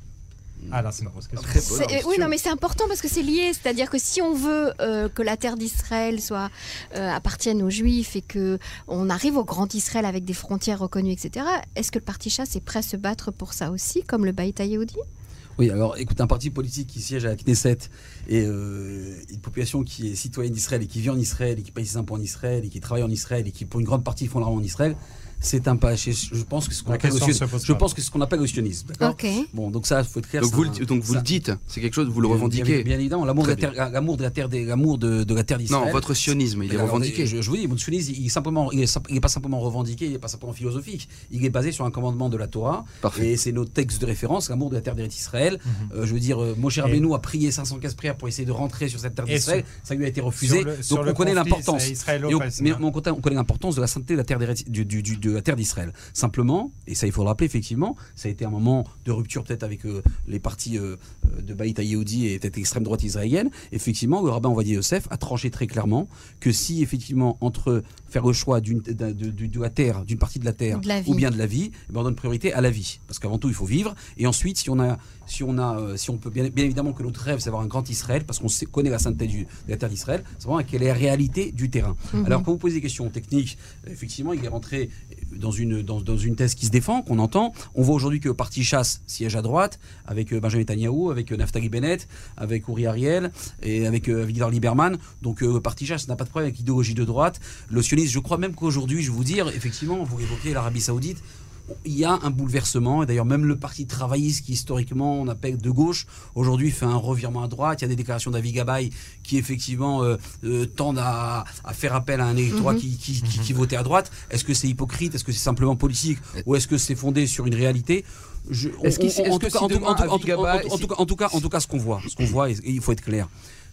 Ah là, c'est ma grosse question. C'est, oui, non, mais c'est important parce que c'est lié. C'est-à-dire que si on veut euh, que la terre d'Israël soit euh, appartienne aux Juifs et que on arrive au Grand Israël avec des frontières reconnues, et cetera. Est-ce que le parti chasse est prêt à se battre pour ça aussi, comme le Bayt Yehoudi ? Oui, alors écoute, un parti politique qui siège à la Knesset et euh, une population qui est citoyenne d'Israël et qui vit en Israël et qui paye ses impôts en Israël et qui travaille en Israël et qui pour une grande partie font l'argent en Israël. C'est un pas. Je pense que ce qu'on appelle, je pense que ce qu'on appelle le sionisme. D'accord. Okay. Bon, donc ça, il faut être clair. Donc vous, un, le, donc vous le dites, c'est quelque chose, vous le revendiquez. Bien, bien évidemment, l'amour de la terre, l'amour de la terre, l'amour de, de la terre d'Israël. Non, votre sionisme, il est revendiqué. Je, je vous dis, mon sionisme, il est simplement, il est, il est pas simplement revendiqué, il est pas simplement philosophique. Il est basé sur un commandement de la Torah. Parfait. Et c'est nos textes de référence, l'amour de la terre d'Israël. Mm-hmm. Euh, je veux dire, euh, Moshe Rabbeinu a prié cinq cent quinze prières pour essayer de rentrer sur cette terre d'Israël. Ça lui a été refusé. Le, donc on connaît l'importance. Mais on connaît l'importance de la sainteté de la terre de la terre d'Israël. Simplement, et ça il faut le rappeler effectivement, ça a été un moment de rupture peut-être avec euh, les partis euh, de Bayt Yehoudi et peut-être l'extrême droite israélienne. Effectivement, le rabbin Ovadia Yosef a tranché très clairement que si effectivement entre faire le choix d'une, de, de, de, de la terre, d'une partie de la terre de la ou bien de la vie, eh ben on donne priorité à la vie, parce qu'avant tout il faut vivre. Et ensuite, si on a, si on a, euh, si on peut bien, bien évidemment que notre rêve c'est d'avoir un grand Israël, parce qu'on sait, connaît la sainteté du, de la terre d'Israël, c'est vraiment quelle est la réalité du terrain. Mm-hmm. Alors quand vous posez des questions techniques, effectivement, il est rentré dans une, dans, dans une thèse qui se défend, qu'on entend. On voit aujourd'hui que le parti chasse siège à droite, avec Benjamin Netanyahou, avec Naftali Bennett, avec Uri Ariel et avec euh, Avigdor Lieberman. Donc euh, le parti chasse n'a pas de problème avec l'idéologie de droite. Le sionisme, je crois même qu'aujourd'hui, je vais vous dire, effectivement, vous évoquez l'Arabie Saoudite, il y a un bouleversement, et d'ailleurs même le parti travailliste qui historiquement on appelle de gauche, aujourd'hui fait un revirement à droite. Il y a des déclarations d'Avi Gabay qui effectivement euh, euh, tendent à, à faire appel à un électorat mm-hmm. qui, qui, qui, qui votait à droite. Est-ce que c'est hypocrite? Est-ce que c'est simplement politique? Ou est-ce que c'est fondé sur une réalité? En tout cas, en tout cas, ce qu'on voit, ce qu'on voit, et, et il faut être clair.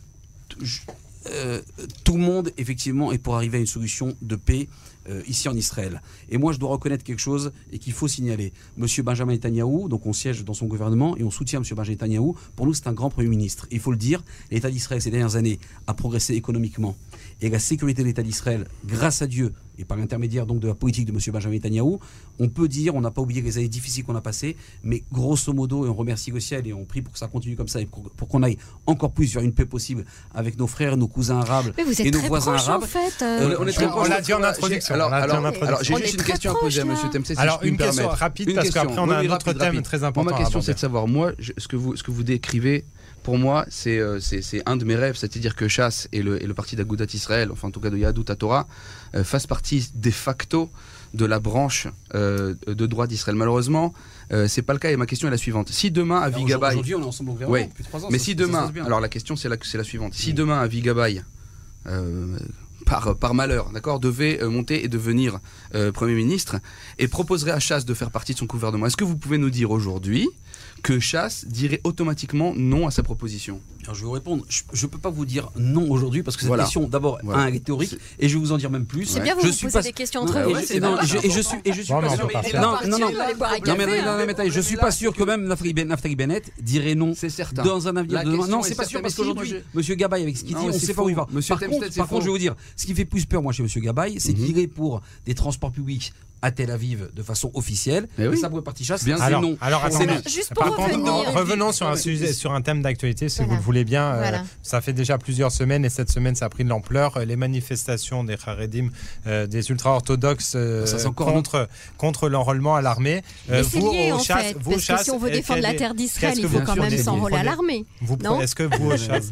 Je, Euh, tout le monde, effectivement, est pour arriver à une solution de paix euh, ici en Israël. Et moi, je dois reconnaître quelque chose et qu'il faut signaler. Monsieur Benjamin Netanyahou, donc on siège dans son gouvernement et on soutient Monsieur Benjamin Netanyahou. Pour nous, c'est un grand Premier ministre. Il faut le dire, l'État d'Israël, ces dernières années, a progressé économiquement. Et la sécurité de l'État d'Israël, grâce à Dieu, et par l'intermédiaire donc de la politique de Monsieur Benjamin Netanyahou, on peut dire, on n'a pas oublié les années difficiles qu'on a passées, mais grosso modo, et on remercie le ciel et on prie pour que ça continue comme ça et pour, pour qu'on aille encore plus vers une paix possible avec nos frères, nos cousins arabes et nos voisins arabes. En fait, euh, on, on, est très on l'a dit en introduction. Alors, alors, alors, alors j'ai juste une question à poser à Monsieur Temsed. Si alors je une peux question me rapide une parce question. qu'après on a oui, un autre rapide, thème rapide. très important. Moi, ma question c'est de savoir, moi, je, ce que vous, ce que vous décrivez. Pour moi, c'est, euh, c'est, c'est un de mes rêves, c'est-à-dire que Chasse et le, et le parti d'Agudat Israël, enfin en tout cas de Yahadut HaTorah, euh, fassent partie de facto de la branche euh, de droite d'Israël. Malheureusement, euh, c'est pas le cas et ma question est la suivante. Si demain Avi Gabay... Aujourd'hui, on est ensemble au gouvernement ouais. depuis trois ans. Mais ça, si ça, demain... ça alors la question c'est la, c'est la suivante. Si mmh. demain Avi Gabay... Euh, Par, par malheur, d'accord, devait euh, monter et devenir euh, Premier ministre et proposerait à Chasse de faire partie de son gouvernement. Est-ce que vous pouvez nous dire aujourd'hui que Chasse dirait automatiquement non à sa proposition? Alors je vais vous répondre, je ne peux pas vous dire non aujourd'hui parce que cette voilà. question, d'abord, voilà. un, elle est théorique et je vais vous en dire même plus. C'est bien, vous, je vous suis posez pas... des questions entre vous. Et je suis, et je suis non, pas non, sûr. Non, non, non, non, mais je suis pas sûr que même Naftali Bennett dirait non. C'est certain. Dans un avenir de demain. Non, c'est pas sûr parce qu'aujourd'hui, Monsieur Gabay avec ce qu'il dit, on ne sait pas où il va. Par contre, je vais vous dire, ce qui fait plus peur, moi, chez Monsieur Gabay, c'est qu'il est pour des transports publics à Tel Aviv de façon officielle. Et, et oui. ça, pour le parti Chasse, c'est non. Alors, attendez, non. Juste pour revenir. Revenons sur un sujet, sur un thème d'actualité, si voilà. vous le voulez bien. Voilà. Euh, ça fait déjà plusieurs semaines et cette semaine, ça a pris de l'ampleur. Les manifestations des Haredim, euh, des ultra-orthodoxes euh, contre, contre l'enrôlement à l'armée. Euh, Mais vous, c'est lié, en chasse, fait, vous, parce chasse, que si on veut défendre la terre d'Israël, il faut quand même s'enrôler à l'armée. Est-ce que vous, au chasse,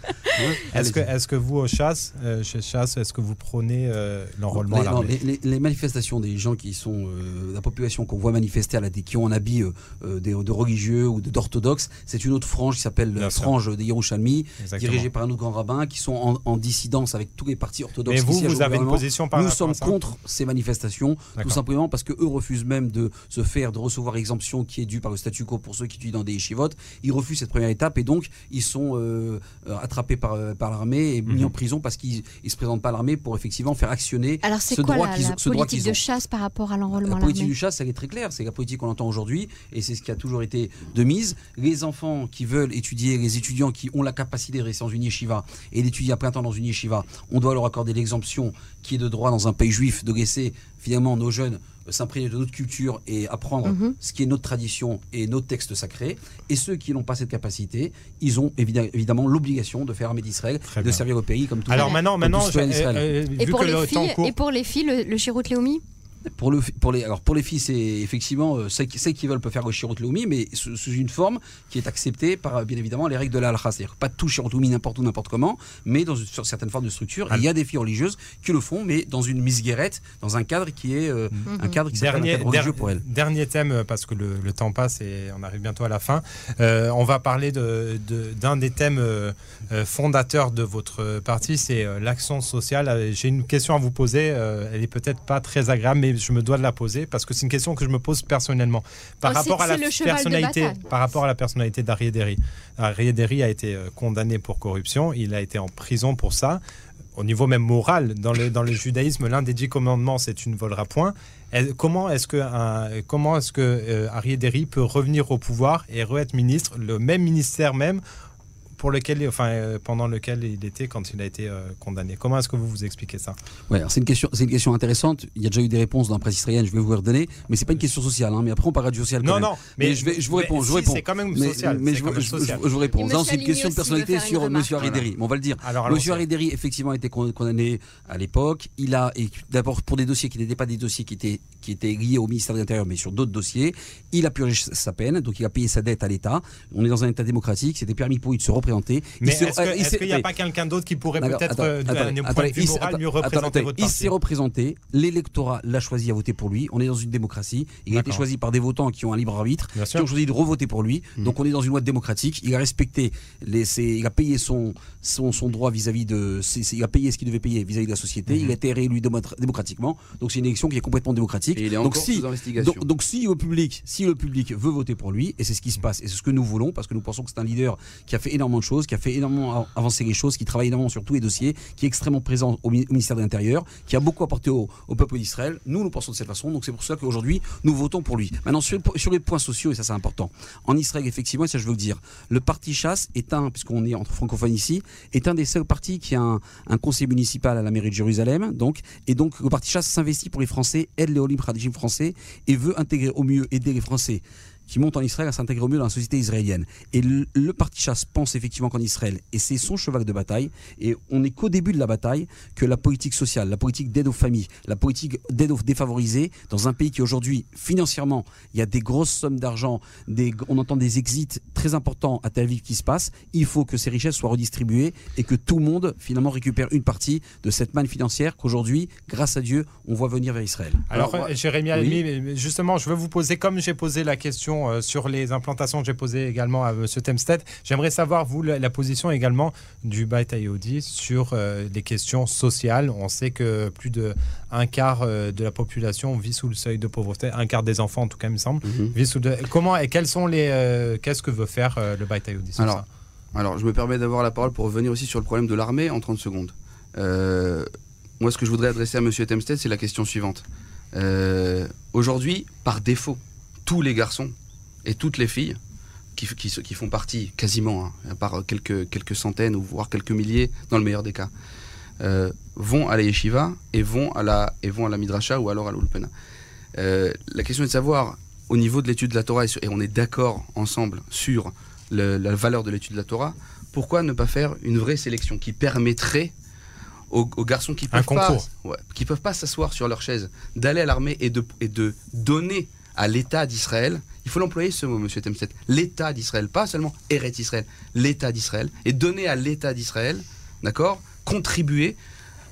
est-ce que, est-ce que vous, au chasse, chez Chasse, est-ce que vous prônez l'enrôlement à l'armée? Les manifestations des gens gens qui sont euh, la population qu'on voit manifester à la qui ont un habit euh, de, de religieux ou d'orthodoxes, c'est une autre frange qui s'appelle la frange des Yerushalmi, dirigée par un autre grand rabbin, qui sont en, en dissidence avec tous les partis orthodoxes. Mais vous, vous avez une position par Nous rapport sommes à ça contre ces manifestations, tout simplement parce qu'eux refusent même de se faire, de recevoir l'exemption qui est due par le statu quo pour ceux qui étudient dans des yeshivot. Ils refusent cette première étape et donc ils sont euh, attrapés par, par l'armée et mis mmh. en prison parce qu'ils ne se présentent pas à l'armée pour effectivement faire actionner Alors c'est ce quoi droit la, qu'ils la ont. Ce politique droit de chasse par rapport à l'enrôlement à l'armée ? La politique de chasse, elle est très claire. C'est la politique qu'on entend aujourd'hui et c'est ce qui a toujours été de mise. Les enfants qui veulent étudier, les étudiants qui ont la capacité de rester dans une yeshiva et d'étudier à plein temps dans une yeshiva, on doit leur accorder l'exemption qui est de droit dans un pays juif de laisser finalement nos jeunes s'imprégner de notre culture et apprendre mmh. ce qui est notre tradition et nos textes sacrés. Et ceux qui n'ont pas cette capacité, ils ont évidemment, évidemment l'obligation de faire l'armée d'Israël, de bien. servir le pays comme tout Alors maintenant, maintenant, tout euh, euh, et, vu pour que les le filles, temps court... et pour les filles, le, le Shirut Leumi Pour, le, pour, les, alors pour les filles, c'est effectivement euh, celles, celles qui veulent peuvent faire le Shirut Leumi, mais sous, sous une forme qui est acceptée par bien évidemment les règles de la halakha. C'est-à-dire pas tout Shirut Leumi n'importe où, n'importe comment, mais dans une, sur certaines formes de structure. Il y a des filles religieuses qui le font, mais dans une misguérette, dans un cadre qui est euh, mm-hmm. un cadre qui s'appelle un cadre religieux pour elles. Dernier thème, parce que le, le temps passe et on arrive bientôt à la fin. Euh, on va parler de, de, d'un des thèmes euh, fondateurs de votre parti, c'est euh, l'action sociale. J'ai une question à vous poser. Euh, elle est peut-être pas très agréable, mais je me dois de la poser parce que c'est une question que je me pose personnellement par oh, rapport c'est, à la personnalité par rapport à la personnalité d'Aryeh Deri. Aryeh Deri a été condamné pour corruption, il a été en prison pour ça. Au niveau même moral, dans le dans le judaïsme, l'un des dix commandements, c'est tu ne voleras point. Et comment est-ce que un, comment est-ce que euh, Aryeh Deri peut revenir au pouvoir et re-être ministre, le même ministère même pour lequel, enfin, euh, pendant lequel il était quand il a été euh, condamné. Comment est-ce que vous vous expliquez ça ? Ouais, alors c'est une question, c'est une question intéressante. Il y a déjà eu des réponses dans la presse israélienne. Je vais vous les redonner, mais c'est pas une question sociale. Hein, mais après on parlera du social. Quand non, même. non. Mais, mais je vais, je vous réponds. Mais je vous si, réponds. C'est quand même mais, social. Mais je, je, je, je, je vous réponds. Non, c'est une question de personnalité sur M. Aryeh Deri. Voilà. On va le dire. Alors, M. Aryeh Deri effectivement a été condamné à l'époque. Il a, et d'abord pour des dossiers qui n'étaient pas des dossiers qui étaient qui étaient liés au ministère de l'Intérieur, mais sur d'autres dossiers. Il a purgé sa peine, donc il a payé sa dette à l'État. On est dans un État démocratique. C'était permis pour lui de se représenter. Mais est-ce qu'il n'y a pas quelqu'un d'autre qui pourrait D'accord, peut-être, attends, d'un attends, point de vue attends, moral, attends, mieux représenter attends, votre parti ? Il s'est représenté, l'électorat l'a choisi à voter pour lui, on est dans une démocratie, il D'accord. a été choisi par des votants qui ont un libre arbitre, Bien qui sûr. ont choisi de revoter pour lui, mmh. donc on est dans une loi démocratique, il a respecté, les, ses, il a payé son, son, son droit vis-à-vis de, ses, il a payé ce qu'il devait payer vis-à-vis de la société, mmh. il a été réélu démocratiquement, donc c'est une élection qui est complètement démocratique. Et il est donc, encore si, sous investigation. Donc, donc si, le public, si le public veut voter pour lui, et c'est ce qui se passe, et c'est ce que nous voulons, parce que nous pensons que c'est un leader qui a fait énormément de choses, qui a fait énormément avancer les choses, qui travaille énormément sur tous les dossiers, qui est extrêmement présent au ministère de l'Intérieur, qui a beaucoup apporté au, au peuple d'Israël. Nous, nous pensons de cette façon, donc c'est pour ça qu'aujourd'hui, nous votons pour lui. Maintenant, sur, sur les points sociaux, et ça c'est important, en Israël, effectivement, et ça je veux le dire, le parti Chasse est un, puisqu'on est entre francophones ici, est un des seuls partis qui a un, un conseil municipal à la mairie de Jérusalem, donc, et donc le parti Chasse s'investit pour les Français, aide les Olim Hadashim français, et veut intégrer au mieux, aider les Français qui montent en Israël à s'intégrer au mieux dans la société israélienne. Et le, le parti Chasse pense effectivement qu'en Israël, et c'est son cheval de bataille, et on n'est qu'au début de la bataille, que la politique sociale, la politique d'aide aux familles, la politique d'aide aux défavorisés, dans un pays qui aujourd'hui, financièrement, il y a des grosses sommes d'argent, des, on entend des exits très importants à Tel Aviv qui se passent, il faut que ces richesses soient redistribuées et que tout le monde, finalement, récupère une partie de cette manne financière qu'aujourd'hui, grâce à Dieu, on voit venir vers Israël. Alors, Alors ouais. Jérémy Almi, oui. justement, je veux vous poser, comme j'ai posé la question sur les implantations que j'ai posées également à M. Temstedt. J'aimerais savoir, vous, la, la position également du Beit Yehudi sur euh, les questions sociales. On sait que plus d'un quart euh, de la population vit sous le seuil de pauvreté, un quart des enfants en tout cas, il me semble, mm-hmm. vit sous le... Comment et quels sont les... Euh, qu'est-ce que veut faire euh, le Beit Yehudi sur alors, ça alors, je me permets d'avoir la parole pour revenir aussi sur le problème de l'armée en trente secondes. Euh, moi, ce que je voudrais adresser à M. Temstedt, c'est la question suivante. Euh, aujourd'hui, par défaut, tous les garçons et toutes les filles qui, qui, qui font partie quasiment, hein, par quelques, quelques centaines ou voire quelques milliers dans le meilleur des cas, euh, vont à la yeshiva et vont à la, et vont à la midrasha ou alors à l'ulpana. Euh, la question est de savoir, au niveau de l'étude de la Torah, et, sur, et on est d'accord ensemble sur le, la valeur de l'étude de la Torah, pourquoi ne pas faire une vraie sélection qui permettrait aux, aux garçons qui peuvent pas, ouais, qui peuvent pas s'asseoir sur leur chaise, d'aller à l'armée et de, et de donner à l'État d'Israël, il faut l'employer ce mot, M. Temstedt, l'État d'Israël, pas seulement Eretz Israël, l'État d'Israël, et donner à l'État d'Israël, d'accord, contribuer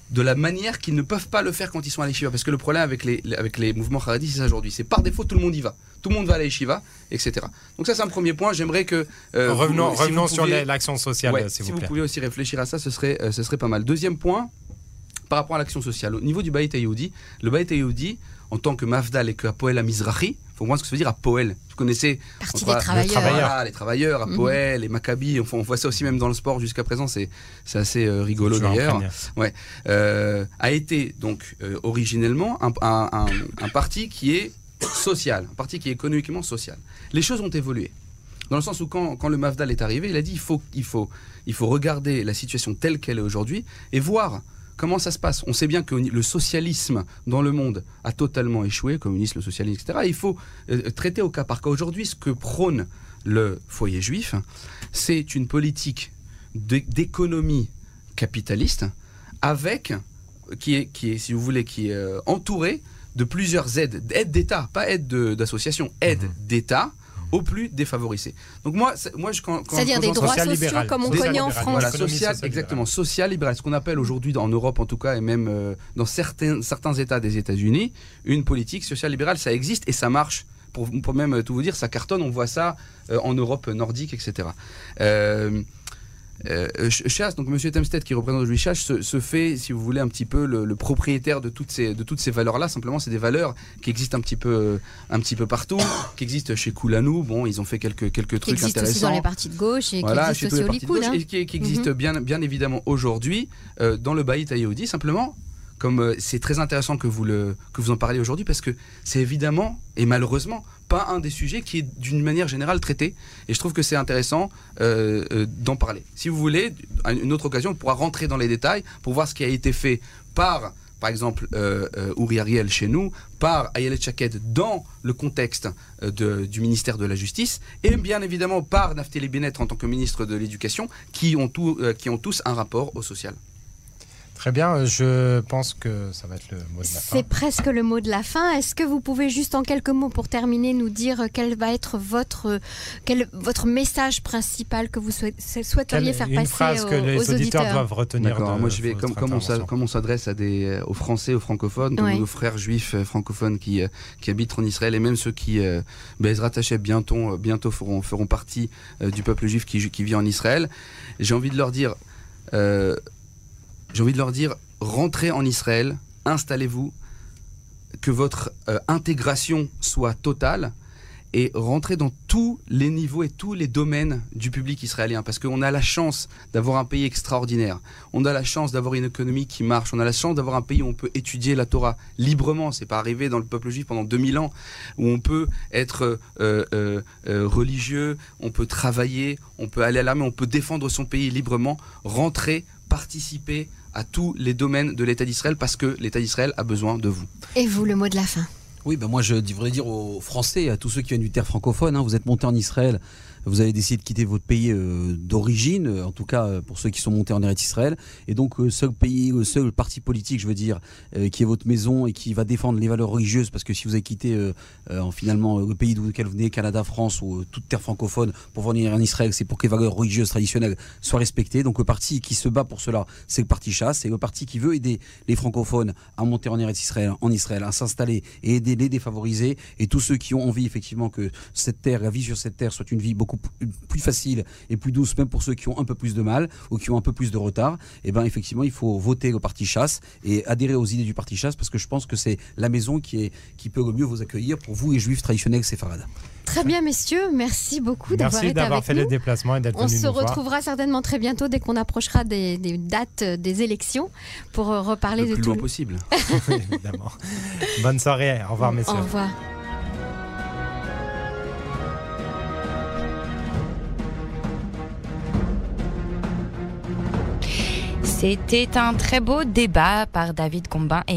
de la manière qu'ils ne peuvent pas le faire quand ils sont à l'Yeshiva. Parce que le problème avec les, avec les mouvements Haredi, c'est ça aujourd'hui. C'est par défaut, tout le monde y va. Tout le monde va à la Yeshiva, et cetera. Donc ça, c'est un premier point. J'aimerais que... Euh, revenons vous, si revenons vous pouviez, sur l'action sociale, ouais, s'il si vous plaît. Si vous pouviez aussi réfléchir à ça, ce serait, euh, ce serait pas mal. Deuxième point, par rapport à l'action sociale. Au niveau du Bayit HaYehudi, le Bayit HaYehudi, en tant que Mafdal et que Hapoel HaMizrahi, il faut voir ce que ça veut dire Hapoel. Vous connaissez Partie des travailleurs. Voilà, les travailleurs, Hapoel, mm-hmm. les Maccabi, enfin, on voit ça aussi même dans le sport jusqu'à présent, c'est, c'est assez euh, rigolo d'ailleurs. Ouais. Euh, a été donc euh, originellement un, un, un, un parti qui est social, un parti qui est économiquement social. Les choses ont évolué. Dans le sens où quand, quand le Mafdal est arrivé, il a dit il faut, il faut, il faut regarder la situation telle qu'elle est aujourd'hui et voir comment ça se passe. On sait bien que le socialisme dans le monde a totalement échoué, le communisme, le socialisme, et cetera. Il faut euh, traiter au cas par cas. Aujourd'hui, ce que prône le foyer juif, c'est une politique d'économie capitaliste avec, qui est, qui est, si vous voulez, qui est euh, entourée de plusieurs aides, aides d'État, pas aides d'association, aides mmh. d'État aux plus défavorisés. Donc moi, moi je, quand, quand c'est-à-dire des droits sociaux libéral. Comme on des connaît en France. Voilà, social, exactement, social libéral. Ce qu'on appelle aujourd'hui en Europe en tout cas et même euh, dans certains, certains États des États-Unis, une politique sociale libérale, ça existe et ça marche. Pour, pour même tout vous dire, ça cartonne. On voit ça euh, en Europe nordique, et cetera. Euh, Euh, Chasse, donc Monsieur Temstedt qui représente aujourd'hui Chasse, se, se fait, si vous voulez, un petit peu le, le propriétaire de toutes ces, de toutes ces valeurs-là. Simplement, c'est des valeurs qui existent un petit peu, un petit peu partout, qui existent chez Koulanou. Bon, ils ont fait quelques, quelques trucs intéressants. Qui existent aussi dans les partis de gauche et voilà, qui existent aussi au Likoud. Hein. Et qui, qui existent mm-hmm. bien, bien évidemment aujourd'hui euh, dans le Bayit HaYehudi. Simplement, comme euh, c'est très intéressant que vous, le, que vous en parliez aujourd'hui, parce que c'est évidemment, et malheureusement, pas un des sujets qui est d'une manière générale traité. Et je trouve que c'est intéressant euh, euh, d'en parler. Si vous voulez, à une autre occasion, on pourra rentrer dans les détails pour voir ce qui a été fait par, par exemple, euh, euh, Uri Ariel chez nous, par Ayelet Shaked dans le contexte euh, de, du ministère de la Justice, et bien évidemment par Naftali Bennett en tant que ministre de l'Éducation, qui ont, tout, euh, qui ont tous un rapport au social. Très bien, je pense que ça va être le mot de la fin. C'est presque le mot de la fin. Est-ce que vous pouvez juste en quelques mots pour terminer nous dire quel va être votre, quel, votre message principal que vous souhaiteriez quelle, faire une passer phrase aux, que les aux auditeurs, auditeurs doivent retenir. D'accord, moi je vais, comme, comme, on comme on s'adresse à des, aux Français, aux francophones, oui. aux frères juifs francophones qui, qui habitent en Israël et même ceux qui, Bezrat Hashem, bientôt, bientôt feront, feront partie du peuple juif qui, qui vit en Israël, j'ai envie de leur dire... Euh, J'ai envie de leur dire, rentrez en Israël, installez-vous, que votre euh, intégration soit totale et rentrez dans tous les niveaux et tous les domaines du public israélien. Parce qu'on a la chance d'avoir un pays extraordinaire. On a la chance d'avoir une économie qui marche. On a la chance d'avoir un pays où on peut étudier la Torah librement. C'est pas arrivé dans le peuple juif pendant deux mille ans, où on peut être euh, euh, euh, religieux, on peut travailler, on peut aller à l'armée, on peut défendre son pays librement. Rentrer, participer à tous les domaines de l'État d'Israël parce que l'État d'Israël a besoin de vous. Et vous, le mot de la fin? Oui, ben moi je devrais dire aux Français, à tous ceux qui viennent du terre francophone, hein, vous êtes montés en Israël, vous avez décidé de quitter votre pays euh, d'origine, en tout cas euh, pour ceux qui sont montés en Eretz Israël, et donc euh, seul pays, euh, seul parti politique, je veux dire, euh, qui est votre maison et qui va défendre les valeurs religieuses, parce que si vous avez quitté euh, euh, finalement le pays d'où vous venez, Canada, France ou euh, toute terre francophone, pour venir en Israël, c'est pour que les valeurs religieuses traditionnelles soient respectées. Donc le parti qui se bat pour cela, c'est le parti Chasse, c'est le parti qui veut aider les francophones à monter en Eretz Israël, en Israël, à s'installer et aider les défavorisés, et tous ceux qui ont envie effectivement que cette terre, la vie sur cette terre soit une vie beaucoup plus facile et plus douce, même pour ceux qui ont un peu plus de mal ou qui ont un peu plus de retard. Et bien effectivement il faut voter au parti Chasse et adhérer aux idées du parti Chasse, parce que je pense que c'est la maison qui, est, qui peut le mieux vous accueillir pour vous les juifs traditionnels séfarades. Très bien messieurs, merci beaucoup d'avoir été avec nous. Merci d'avoir fait les déplacements et d'être venus nous voir. On se retrouvera certainement très bientôt dès qu'on approchera des, des dates des élections pour reparler le de plus tout. loin possible. Évidemment. Bonne soirée, au revoir messieurs. Au revoir. C'était un très beau débat par David Combin et